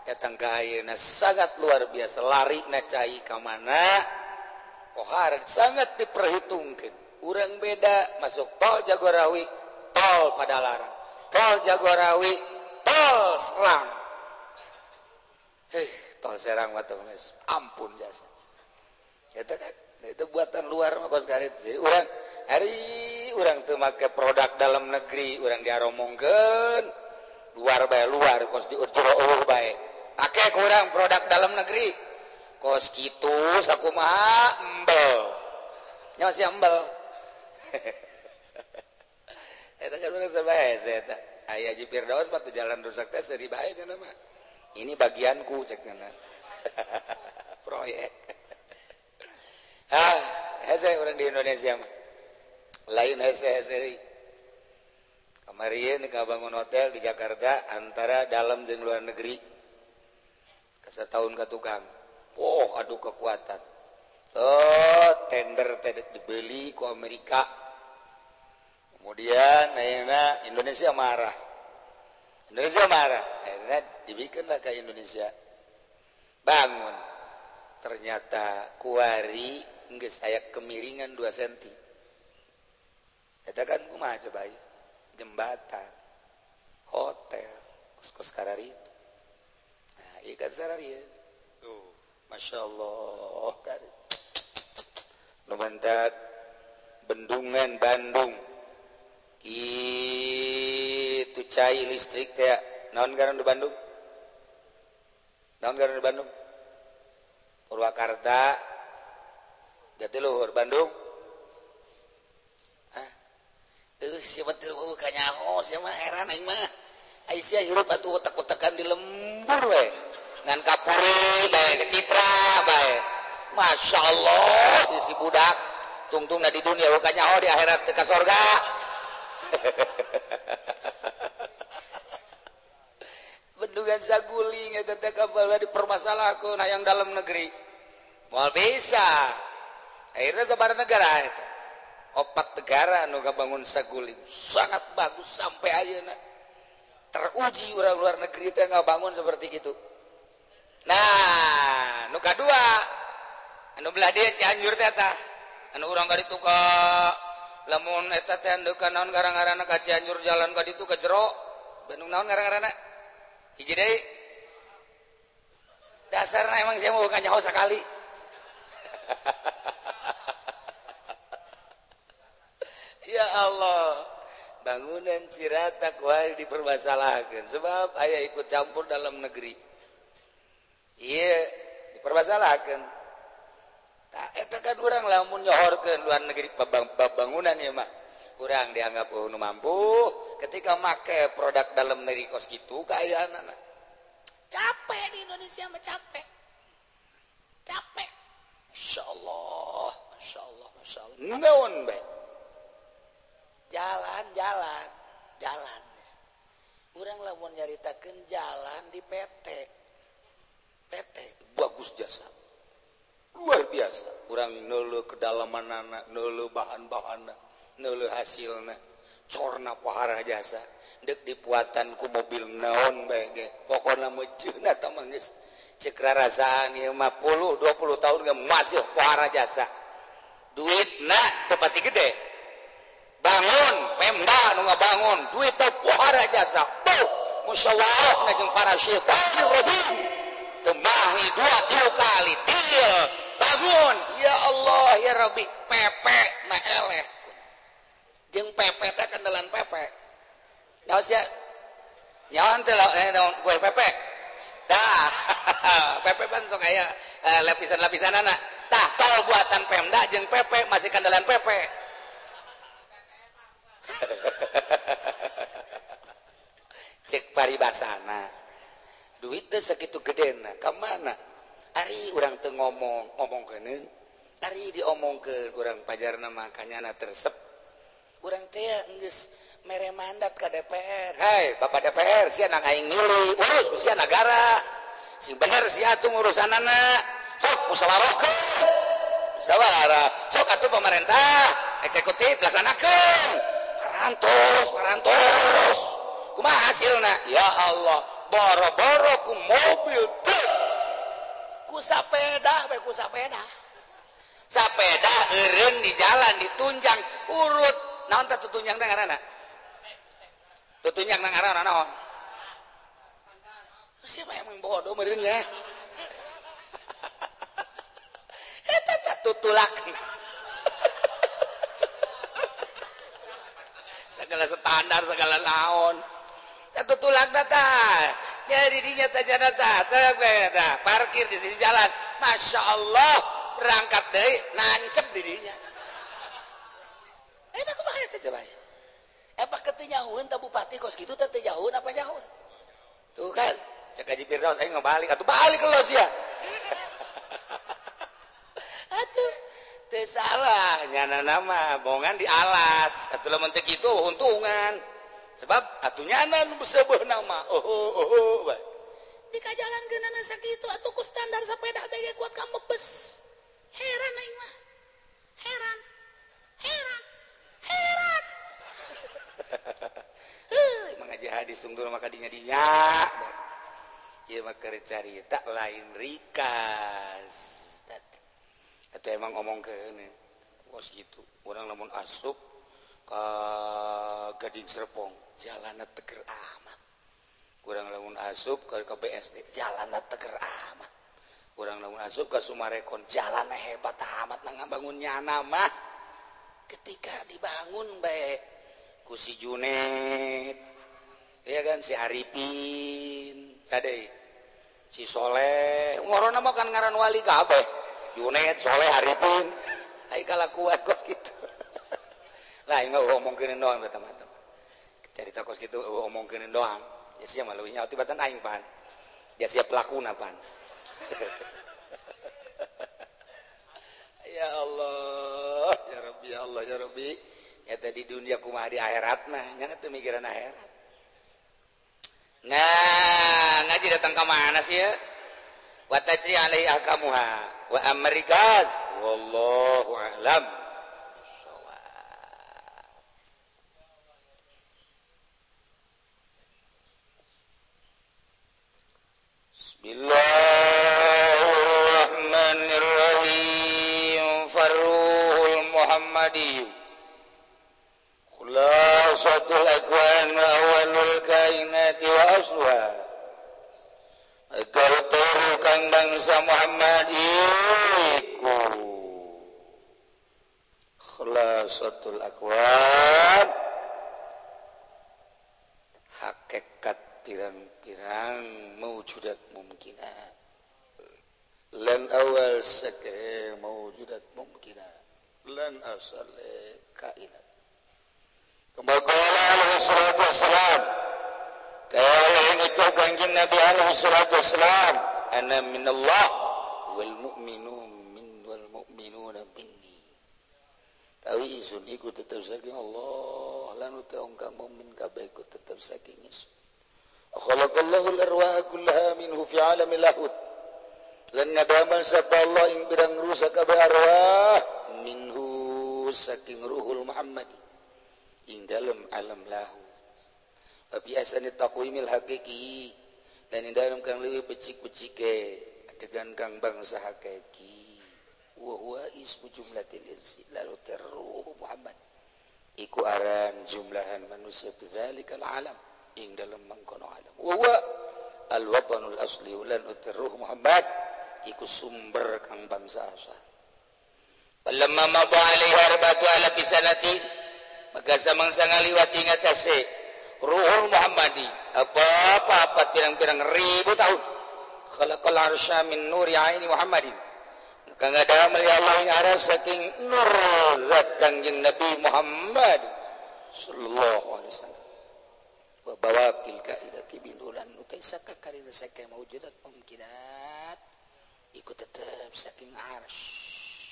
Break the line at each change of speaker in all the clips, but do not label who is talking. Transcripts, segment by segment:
datang ke ayeuna sangat luar biasa lari na cai ka mana kohar sangat diperhitungkan urang beda masuk tol Jagorawi tol Padalarang tol Jagorawi tol Serang tol Serang mah geus ampun jasa eta kan itu buatan luar mah kos karet jadi urang hari urang teu make produk dalam negeri urang diaromongkeun luar bae luar kos diurjuro bae pakai kurang produk dalam negeri kos kitu sakumaha embel nya masih embel eta kan urang sabahasa eta aya Haji Firdaus mah jalan rusak teh seri bae kana mah ini bagianku cek kana proyek hese urang di Indonesia mah lain hese kemarin kabangun hotel di Jakarta antara dalam jeung luar negeri setahun ke tukang aduh kekuatan tender dibeli ke Amerika kemudian akhirnya Indonesia marah akhirnya dibikinlah ke Indonesia bangun ternyata kuari geus aya kemiringan 2 cm eta kan kumaha coba jembatan hotel kos-kos kararitu ikan sararian tuh Masya Allah kan numantak bendungan Bandung itu cai listrik teh naon ngaran di Bandung Purwakarta Jatiluhur Bandung siapa teu buka nyaho siapa heran aing mah Aisyah hirup atuh otak-otakan di lembur we ngan kapuri bae ke Citra bae Masya Allah si budak tungtungna di dunia buka nyaho di akhirat teu ka sorga bendungan saguling eta teh kapal dipermasalahkeun hayang dalam negeri moal bisa akhirnya sabaraha negara eta 4 negara anu kabangun saguling sangat bagus sampai ayeuna teruji orang luar negeri teh ngabangun seperti itu. Nah, nu kadua anu belah dia Cianjur teh tah. Anu urang ka ditu ka lamun eta teh andeu ka naon garang-garana ka Cianjur jalan ka ditu ka jero. Bandung naon garang-garana? Hiji deui. Dasarna emang saya mau ka nyaho sakali. Ya Allah. Bangunan Cirata kuari dipermasalahkan sebab ayah ikut campur dalam negeri. Iya dipermasalahkan. Tak eta kan urang lamun nyohorkeun luar negeri bangunan ya mah. Urang dianggap nu mampu ketika make produk dalam negeri kos kitu kaayana. Capek di Indonesia mah capek. Capek. Masyaallah, masyaallah, masyaallah. Naon bae? Jalan urang lamun nyaritakeun jalan di PT bagus jasa luar biasa urang neuleuh kedalamanana neuleuh bahan-bahanna neuleuh hasilna corna pohara jasa deuk dipuatan ku mobil naon bae ge pokona meuceuna tah mah geus ceuk rarasaan ieu mah 10 20 tahun ge masih pohara jasa duitna teu pati gede bangun Pemda nu ngabangun duit teh pohara jasa tuh musyawarah jeung para syaitanir rajim temahi 2-3 kali deal bangun ya Allah ya Rabbi pepe na eleh jeung pepe teh kendelan pepe nyaos ya nyaon teh naon kue pepe tah pepe pan sok aya lapisan-lapisanana tah tol buatan Pemda jeung pepe masih kendelan pepe cek paribasana duit teh sakitu gedena ka mana ari urang teu ngomongkeun ari diomongkeun urang pajarna mah kanyana tersep urang teh geus mere mandat ka DPR hai Bapak DPR sia nang aing milih urus ku sia negara sing bener sia atuh ngurusanana sok musyawarahkeun musyawarah sok atuh pemerintah eksekutif laksanakeun parantos kumaha hasilna ya Allah boro-boro ku mobil truk ku sapeda sapeda eureun di jalan ditunjang urut naon teh tutunjang teh ngaranna tutunjang nang ngaranna naon siapa yang bodoh meureun ya eta tutulak segala standar segala naon eta tutulak data jadi dinya teh data parkir di sisi jalan Masya Allah berangkat deui nancep di dinya eta kumaha teh coba apa ketinyahueun teh bupati kos kitu teh nyahueun apa nyahueun tuh kan cek Haji Firdaus aing ngabalik atuh balik lo sia atuh teu salah nyanana mah bongan di alas atuh lamun teu kitu untungan sebab atuh nyana nu beuseubeun nama bae di kajalankeunana sakitu atuh ku standar sepeda bege kuat ka mebes heran aing mah heran emang ngaji hadis tunggu maka dinya ieu mah keur carita lain rikas atau emang ngomongkeun bos gitu urang lamun asup ka Gading Serpong jalanna teger amat urang lamun asup ka BSD jalanna teger amat urang lamun asup ka Sumarekon jalanna hebat amat nang ngabangun nyana mah ketika dibangun bae ku si Junet ya kan si Arifin sadeu si Soleh ngorona mah kan ngaran wali kabeh Junet Soleh Arifin ai kalakuan kos kitu lah ingat ngomongkeun doang teman-teman cerita kos kitu ngomongkeun doang ya sia mah leuwih nyaho tibatan aing pan dia siap pelakuna pan ya Allah ya Rabbi ya Allah ya Rabbi ya tadi dunia kumaha di akhirat nah nya teu mikiran akhirat nah ngaji datang ka mana sih ya wa tajri alaihi ahkamuha wa amrikas wallahu a'lam Bismillahirrahmanirrahim Farruhul Muhammadi Khulasatul akwan wa awalul kainati wa asluha Akal turukan bangsa Muhammad iku Khulasatul akwan hakikat pirang-pirang mawjudat mumkinat lan awal sake mawjudat mumkinat lan asal kainat kembali alaihi salatu wassalam kaya yang ucap kanjeng Nabi alaihi salatu wassalam ana minallah wal mu'minuna minni tawi isun iku tetap saking Allah lan utaung ka mukmin kabeh iku tetap saking isun khalaqallahu al-arwaha kullaha minhu fi alamil lahud lan ngadaman sapa Allah ing birang rusak kabeh arwah minhu saking ruhul Muhammadi ing dalem alam lahu tapi asani taqwimil haqiqi dan ing dalem kang leuwih becik-becike adegan kang bangsa hakiki wa huwa ismu jumlatil insi lalu terruh Muhammad iku aran jumlahan manusia bizzalikal alam ing dalam mangkono alam wa huwa al-watanul asli lan uterruh Muhammad iku sumber kang bangsa asal palamma maba alaihi arbatu ala bisanati maka samangsa ngaliwat ingat ase ruhul Muhammadi apa pirang-pirang ribu tahun khalaqal arsya min nuri aini Muhammadin maka ngadamel Allah ing aras saking nur zat kanjeng Nabi Muhammad sallallahu alaihi wasallam wa bawaqil kaidati binulan utaisaka karina saking mawjudat mumkinat ikut tetap saking arsy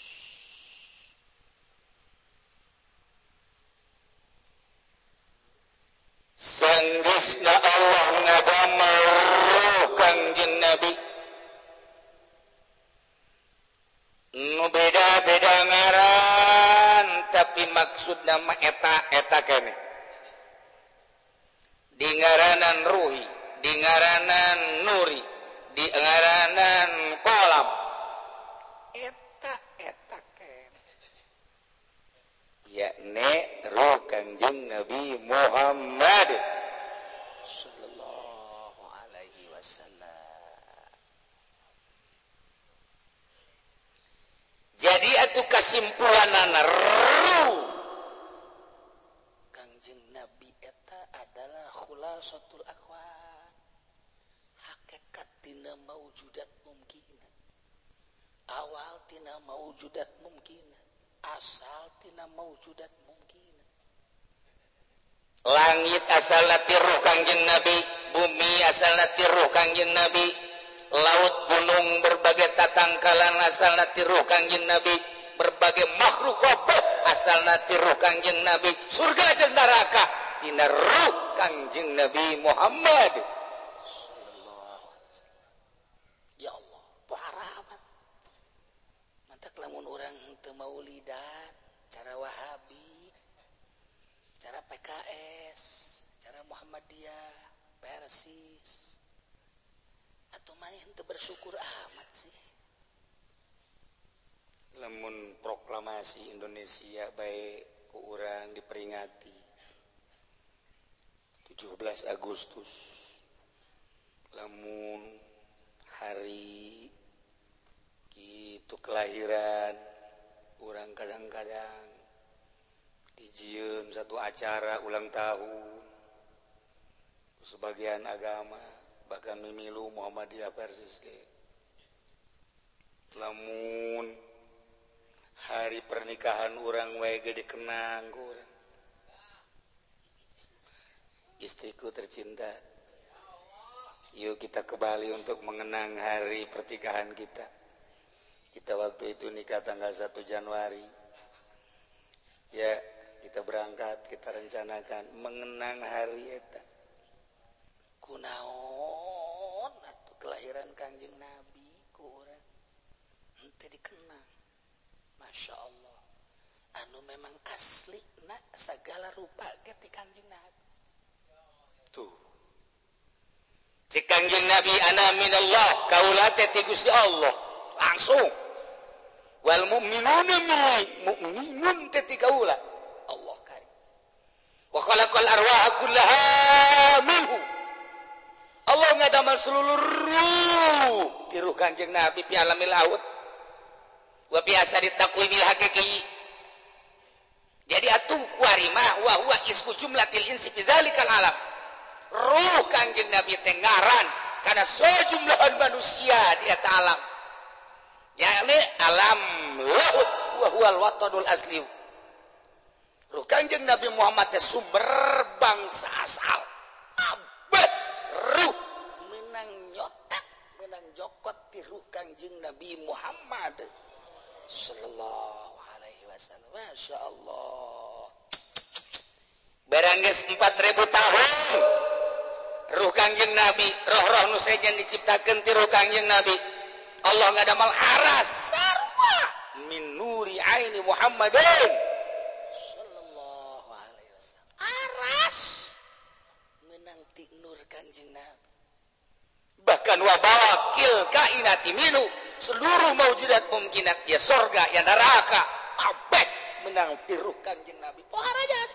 sanggeusna Allah ngadamel ruh kanjeng Nabi nu beda-beda ngaran tapi maksudna mah eta keneh di ngaranan ruhi di ngaranan Nuri di ngaranan kolam eta yakni ruh Kangjeng Nabi Muhammad sallallahu alaihi wasallam. Jadi atuh kasimpulanana ruh Kangjeng Nabi eta adalah khulasatul aqwan, hakikat tina maujudat mungkin, awal tina maujudat mungkin, asal tina maujudat mungkin. Langit asalna ti ruh Kangjeng Nabi, bumi asalna ti ruh Kangjeng Nabi, laut gunung berbagai tatangkalan asalna ti ruh Kangjeng Nabi, berbagai makhluk kabeh asalna ti ruh Kangjeng Nabi, surga jeung neraka tina ruh Kangjeng Nabi Muhammad sallallahu alaihi wasallam. Ya Allah, parapat. Mantak lamun urang teu maulidan, cara Wahabi, cara PKS, cara Muhammadiyah, Persis, atau maneh teu bersyukur amat sih. Lamun proklamasi Indonesia baik ku urang diperingati 17 Agustus, lamun hari itu kelahiran urang kadang-kadang dijieun satu acara ulang tahun sebagian agama bahkan mimilu Muhammadiyah Persis ge. Lamun hari pernikahan urang wae ge dikenang ku urang. Istriku tercinta, yuk kita ke Bali untuk mengenang hari pernikahan kita. Kita waktu itu nikah tanggal 1 Januari. Ya, kita berangkat, kita rencanakan mengenang hari eta. Kunaon atuh kelahiran Kangjeng Nabi ku urang henteu dikenang. Masya Allah. Anu memang asli nak segala rupa ge ti Kangjeng Nabi. Tuh. Cik Kangjeng Nabi ana minallah, kaula teh ti Gusti Allah. Langsung. Wal mu'minuna mu'minun teh ti kaula. Allah karim. Wa khalaqal arwaha kullaha minhu. Allah ngadamal seluruh ruh ti ruh Kangjeng Nabi fi alamil laut. Wa biasa ditakwimil hakiki. Jadi atuh kuarimah wa huwa ismu jumlatil insi fi dzalikal alam. Ruh Kangjeng Nabi teh ngaran kana sejumlahan manusia di eta alam. Yakni alam laut wa huwal watanul asli. Ruh Kangjeng Nabi Muhammad teh sumber bangsa asal. Abad ruh menang nyotak, menang jokot ti ruh Kangjeng Nabi Muhammad sallallahu alaihi wasallam. Masya Allah. Barang geus 4000 tahun ruh Kangjeng Nabi, roh-roh nu sejen diciptakeun ti ruh Kangjeng Nabi. Allah ngadamal aras sarua min nuri aini Muhammadin sallallahu alaihi wasallam. Aras menang ti nur Kangjeng Nabi. Bahkan wa bawakil kainati minu, seluruh maujudat mungkinat ya surga ya neraka abeh menang ti ruh Kangjeng Nabi. Pohara jasa.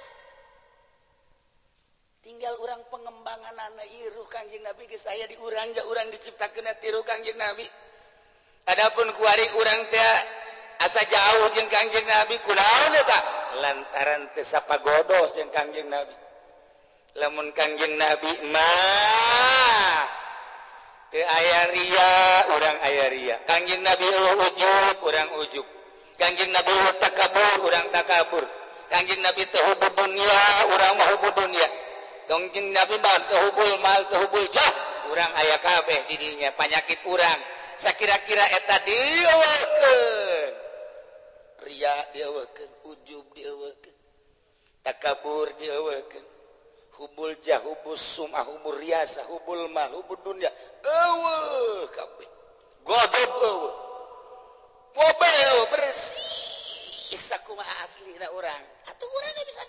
Tinggal urang pengembangan anak ruh Kangjeng Nabi geus aya di urang ja urang diciptakeun ti ruh Kangjeng Nabi. Adapun kuari urang teh asa jauh jeung Kangjeng Nabi kunaon eta? Lantaran teu sapagodos jeung Kangjeng Nabi. Lamun Kangjeng Nabi mah teu aya ria, urang aya ria. Kangjeng Nabi ujub, urang ujub. Kangjeng Nabi takabur, urang takabur. Kangjeng Nabi teu hubud dunya, urang mah hubud dunya. Kangjeng Nabi mah teu hubul mal, teu hubul jah, urang aya kabeh di dinya panyakit urang. Sakira-kira eta dieuwekeun. Ria dieuwekeun, ujub dieuwekeun. Takabur dieuwekeun. Hubul jah, hubul sum'ah, hubul riasa, hubul mal, hubul dunya. Eueuh kabeh. Godop eueuh. Mobe eueuh bersih. Sakumaha aslina urang. Atuh urang ge bisa nempo. kaluareun alam ieu.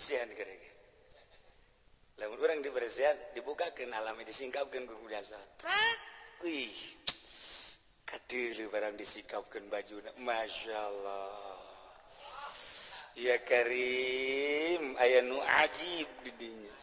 dibersihan kerenge lamun urang dibersihan dibukakeun alami disingkapkeun ku jasa trak wih kadeuleum barang disingkapkeun bajuna masyaallah ya karim aya nu ajib di dinya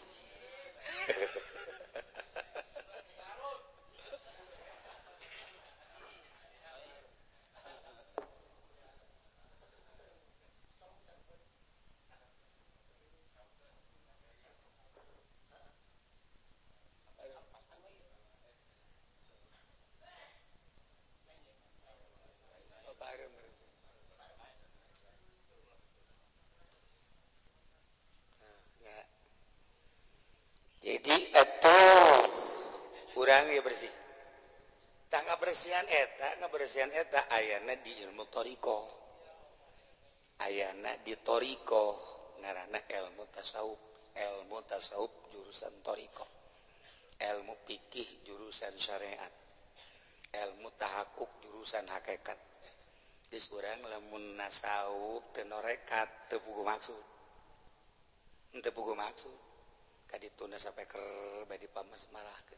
jadi atuh urang ge bersih tangga bersihan eta ayana di ilmu toriko ayana di toriko ngaranna ilmu tasawuf jurusan toriko ilmu fikih jurusan syariat ilmu tahakuk jurusan hakikat geus urang lamun nasawuf teu norekat teu puguh maksud kadituna sampai ker badi pamasmalahkeun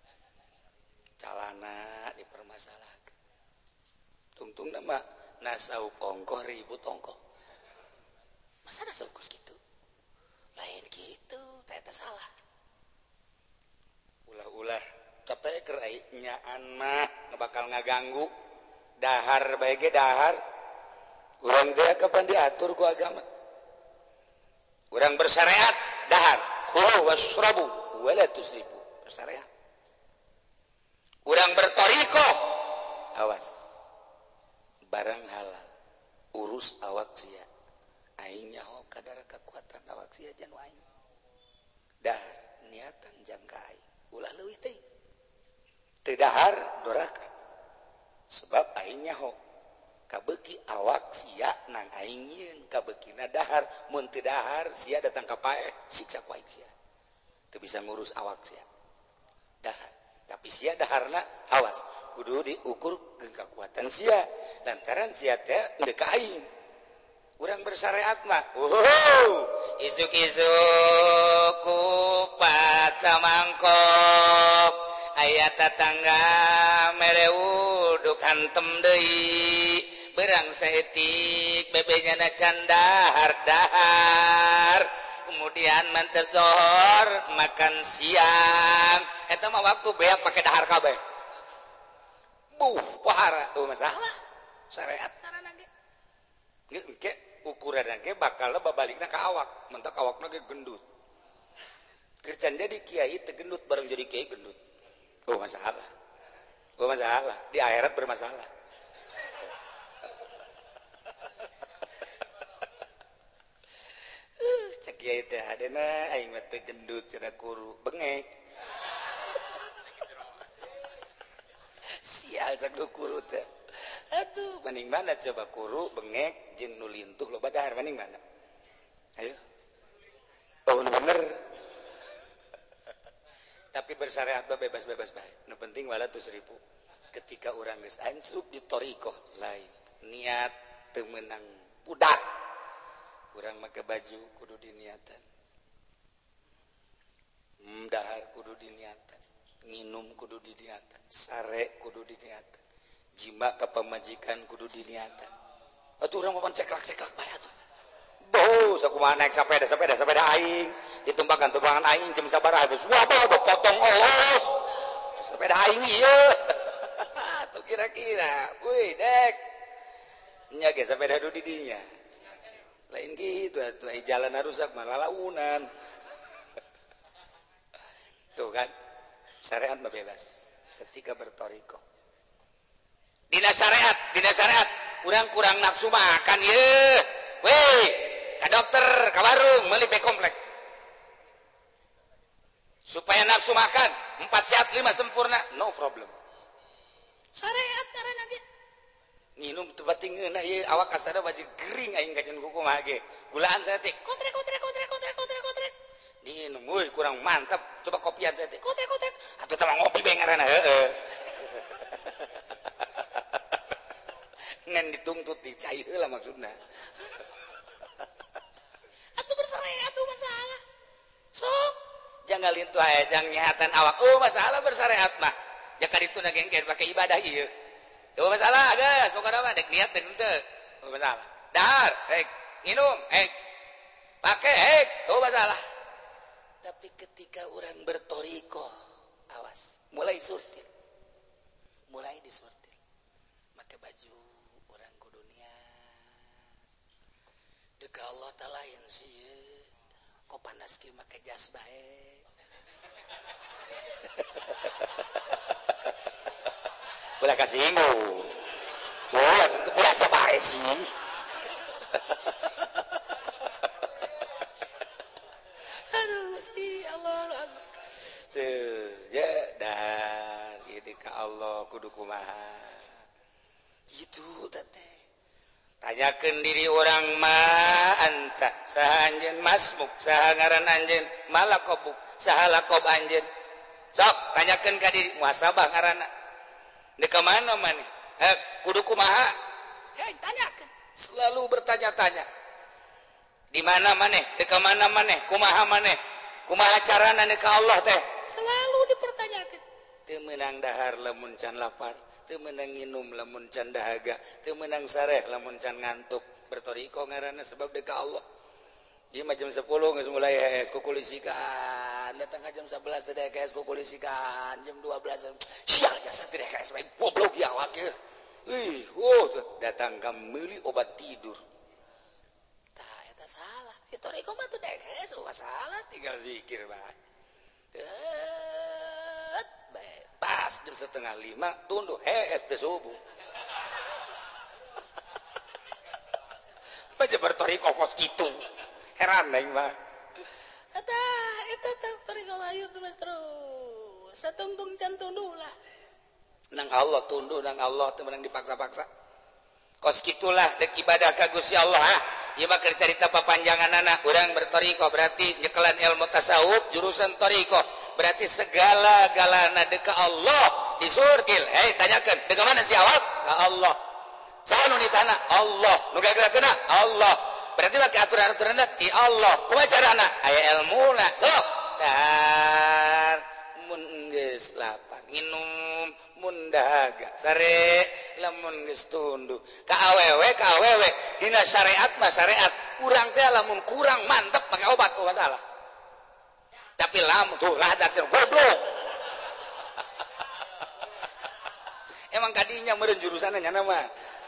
calana dipermasalahkeun tungtungna mah nasawuf ongkoh ribut ongkoh masa nasawuf geus kitu lain kitu eta salah ulah-ulah capek keur nyaan mah bakal ngaganggu dahar bae ge dahar urang teh kapan diatur ku agama urang bersyariat dahar kulu wasrabu wala tusrifu bersyariat urang bertoriko awas barang halal urus awak sia aing nyaho kadar kekuatan awak sia jan aing dahar niatan jangka aing ulah leuwih teh teu dahar doraka sebab aing nyaho kabeuki awak sia nang aing nyieun kabeukina dahar mun teu dahar sia datang ka pae siksa ku aing sia teu bisa ngurus awak sia dahar tapi sia daharna awas kudu diukur geung kakuatan sia lantaran sia teh teu ka aing urang bersyariat mah isuk-isuk kupat samangkok aya tetangga mere uduk hantem deui berang saeutik bebenya na can dahar kemudian mantes dohor makan siang eta mah waktu beak pake dahar kabeh pahara masalah syariat karana ge engke ukuranna ge bakal babalikna ka awak mentak awakna ge gendut kerjaan jadi kiai teu gendut bareng jadi kiai gendut masalah di akhirat bermasalah cek kiai teh adena aing mah teu gendut cenah kuru bengek sial cek du kuru teh atuh mending mana coba kuru bengek jeung nu lintuh loba dahar mending mana ayo bener tapi bersyariat mah bebas-bebas bae nu penting wala tusrifu ketika urang geus ansub di torikoh lain niat teu meunang budak urang make baju kudu diniatan dahar kudu diniatan nginum kudu diniatan sare kudu diniatan jima ka pamajikan kudu diniatan atuh urang papan ceklak-ceklak bae atuh sakumaha naik sepeda aing ditumbakan aing jam sabaraha geus wabah potong olos sepeda aing ieu atuh kira-kira weuy dek nya ge sepeda du di dinya lain gitu atuh jalan rusak mah lalaunan tuh kan syariat mah bebas ketika bertoriko dina syariat urang kurang nafsu makan ieu weh ka dokter ka warung meuli pe komplek supaya nafsu makan 4 sehat 5 sempurna no problem syariat karena ge nginum teu bating ngeunah ieu awak kasada baju gering aing kajen kukumaha ge gulaan saya teh kotrek diinum euy kurang mantap coba kopian saya teh kotrek atuh teh ngopi bae ngaranna heueuh ngan dituntut dicai heula maksudna atuh bersyariat atuh ngalintu ajang nyehatan awak. Oh, masalah bersyariat mah. Jaka ditu nagengkeun pakai ibadah ieu. Tuh masalah, geus pokona mah dek niat dek henteu. Tuh masalah. Dahar, hek, minum, hek. Pakai hek, tuh masalah. Tapi ketika orang bertoriko, awas, mulai surtil. Mulai disurtil. Pakai baju orang kudunya. Deka Allah talain sih. Kok panas kieu make jas bae. Ulah kasih inggu. Oh, itu biasa bae sih. Aduh, Gusti Allah. Tuh, ya dan ini ka Allah kudu kumaha. Gitu teh. Tanyakeun diri orang mah anta saha anjeun masmuk saha ngaran anjeun malakobuk saha lakob anjeun. Sok tanyakeun ka diri muhasabah ngaranna. Di ke mana maneh? Kudu kumaha? Tanyakeun. Selalu bertanya-tanya. Di mana maneh? Di ke mana maneh? Kumaha maneh? Kumaha carana ka Allah teh? Selalu dipertanyakeun. Teu meunang dahar lamun can lapar, teu meunang nginum lamun can dahaga, teu meunang sareh lamun can ngantuk. Bertoriko ngaranna sebab deuk ka Allah. Ieu mah jam 10 geus mulai hees kukulisikan. Datang ka jam 11 teh hees kukulisikan. Jam 12 sial jasa teh hees bae goblok ya awak ieu. Datang ka meuli obat tidur. Tah eta salah. Toriko mah teu hees salah tinggal zikir bae. Pas jam 4:30 tunduh hees teh subuh. Baca bertoriko kos kitu. Heran aing mah. Eta toriko ayu terus. Satungtung can tunduh lah. Nang Allah tunduh, nang Allah teu meunang dipaksa-paksa. Kos kitulah dek ibadah ka Gusti Allah. Ieu mah keur carita papanjanganana. Urang bertoriko berarti nyekelan ilmu tasawuf jurusan toriko. Berarti segala-galana deuk ka Allah disurtil. Tanyakeun, deuk ka mana si awak? Ka Allah. Saha nu nitana? Allah. Nu gagarakeunna? Allah. Berarti make aturan-aturanna ti Allah. Kumaha carana? Aya ilmuna. Sok. Dan mun geus lapar minum, mun dahaga sare, lamun geus tunduh. Ka awewe dina syariat mah syariat. Urang teh lamun kurang mantep make obat ku masalah. Tapi lamun tuh radat goblok. Emang kadinya meureun jurusanna nya mah.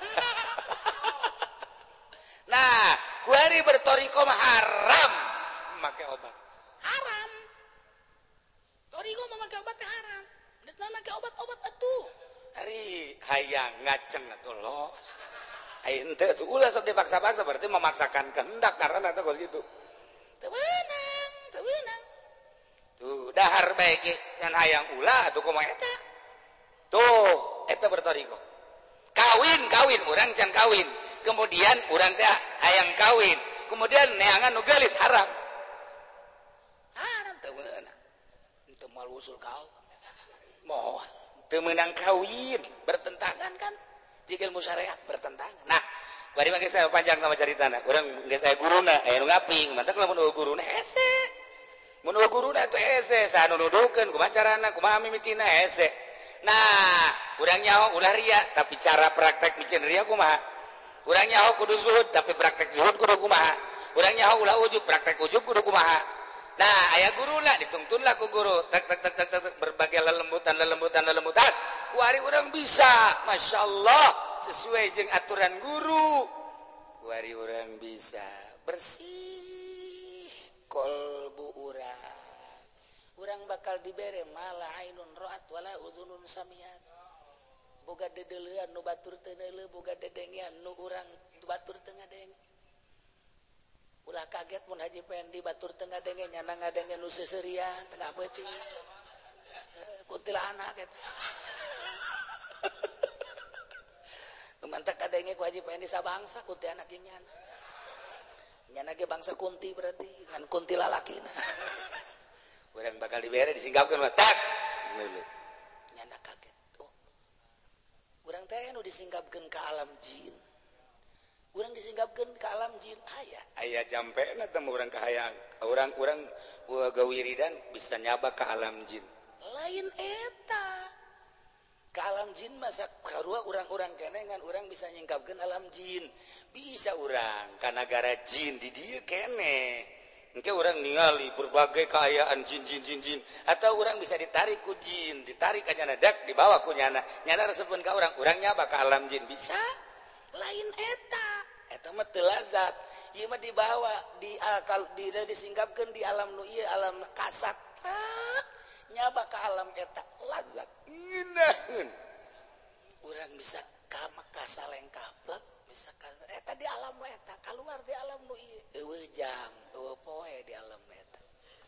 Nah, kuari bertoriko mah haram make obat. Haram. Toriko mah make obat teh haram. Ditna make obat-obat atuh. Ari hayang ngaceng atuh los. Ai henteu atuh ulah sok dipaksa-paksa berarti memaksakan kehendak karena eta kos kitu. Teu beunang. Tuh, dahar bae ge ngan hayang ulah atuh kumaha eta. Tuh, eta bertoriko. Kawin, urang can kawin. Kemudian urang teh hayang kawin. Kemudian neangan nu geulis haram. Haram teu meunang. Teu moal usul ka Allah. Moal teu meunang kawin, bertentangan kan? Jika ilmu syariat bertentangan. Nah, bari mah geus panjang sama caritana. Urang geus aya guruna, aya nu ngaping, mantap lamun guruna hese. Mun guruna teh hese, saha nu nuduhkeun kumaha carana, kumaha mimitina hese. Nah, urang nyaho ulah ria, tapi cara praktek micin ria kumaha? Urang nyaho kudu zuhud, tapi praktek zuhud kudu kumaha? Urang nyaho ulah ujub, praktek ujub kudu kumaha? Nah, aya guruna ditungtunlah ku guru, tek berbagai lelembutan. Kuari urang bisa, Masya Allah, sesuai jeung aturan guru. Kuari urang bisa bersih kolbu urang. Urang bakal dibere mala ainun ra'at wala udhunun samiat. Boga dedeleuan nu batur teu neuleuh, boga dedengian nu urang batur teu ngadenge. Ulah kaget mun Haji Pendi batur teu ngadenge nyana ngadenge nu seuseurean teu ngapeuting. Kuntilanak eta. Nu mantak kadenge ku Haji Pendi sabangsa kunti anak ge nyana. Nyana ge bangsa kunti berarti ngan kunti lalakina. Urang bakal dibere disinggapkeun mah tak neuleuh. Nyana kaget. Oh. Urang teh nu disinggapkeun ka alam jin.
urang disinggapkeun ka alam jin
aya jampena temu urang kahayang urang gawiridan bisa nyaba ka alam jin
lain eta ka alam jin masa karua urang-urang kenengan urang bisa nyingkapkeun alam jin bisa urang
ka negara jin di dieu keneh engke urang ningali berbagai kaayaan jin atau urang bisa ditarik ku jin ditarik ka nyana dak dibawa ku nyana resepkeun ka urang nyaba ka alam jin bisa
lain eta mah teu lazat ieu mah dibawa di akal disingkapkeun di alam nu ieu alam kasat nyaba ka alam eta lazat
ngeunaheun
urang bisa ka Mekah salengkaplek bisa ka eta di alam eta keluar di alam nu ieu eueuh jam eueuh poe di alam eta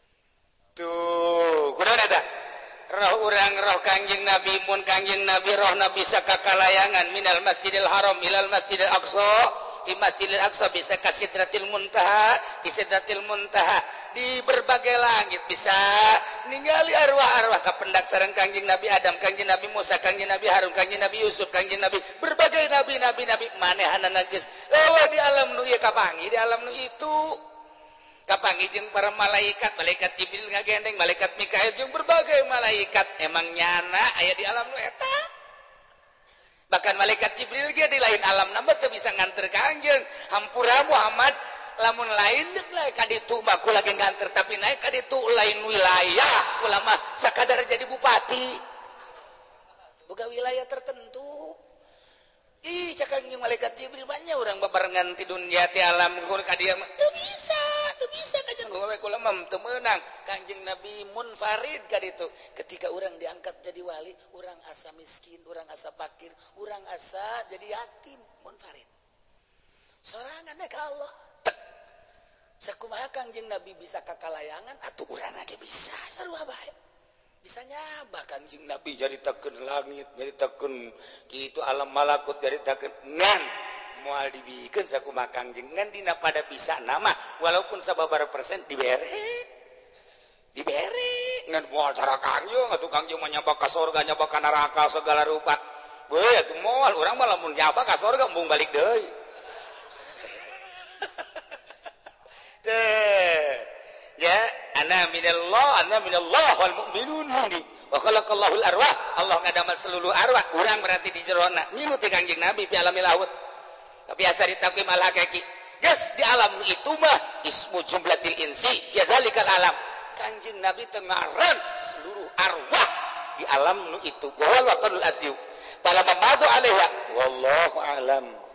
tuh kunaon eta roh urang roh Kangjeng Nabi mun Kangjeng Nabi rohna bisa ka kalayangan minal Masjidil Haram ilal Masjidil Aqsa di Masjidil Aqsa bisa ka Sidratil Muntaha di Sidratil Muntaha di berbagai langit bisa ningali arwah-arwah ka pendak sareng Kangjeng Nabi Adam Kangjeng Nabi Musa Kangjeng Nabi Harun Kangjeng Nabi Yusuf Kangjeng Nabi berbagai nabi manehanana geus eueuh di alam nu ieu kapangi di alam nu itu kapangi jeung para malaikat Jibril ngagendeng malaikat Mikail jeung berbagai malaikat emang nyana aya di alam nu eta bahkan malaikat Jibril ge di lain alam nambah teu bisa nganter ka anjeun hampura Muhammad lamun lain deuk lain ka ditu baku lagi nganter tapi naik ka ditu lain wilayah ulama sakadar jadi bupati
boga wilayah tertentu
ih cakang jeung malaikat Jibril banyak urang babarengan ti dunya ti alam ngur ka dieu teu bisa kajen gowe ulama teu meunang Kanjeng Nabi munfarid ka ditu ketika urang diangkat jadi wali urang asa miskin urang asa fakir urang asa jadi yatim munfarid sorangan ka Allah sakumaha Kanjeng Nabi bisa ka kalayangan atuh urang ge bisa sarua bae bisa nyaba Kanjeng Nabi jadi tekeun langit jadi tekeun kitu alam malakut jadi tekeun ngan moal dibikeun sakumaha Kanjeng ngan dina pada bisa nama walaupun sababaraha persen dibere ngan moal cara Kanjeng atuh Kanjeng mah nyaba ka surga nyaba ka neraka segala rupa beuh atuh moal urang mah lamun nyaba ka surga embung balik deui ya ana minallah wal mu'minun wa khalaqallahul arwah Allah ngadamal seluruh arwah urang berarti di jerona milu ti Kanjeng Nabi fi alamil laut tapi asa ditakwim al haqiqi geus di alam itu mah ismu jumlatil insi ya zalikal alam Kanjeng Nabi teu ngaran seluruh arwah di alam nu itu wa wal waqtul asyu pala mamadu alaiha wallahu alam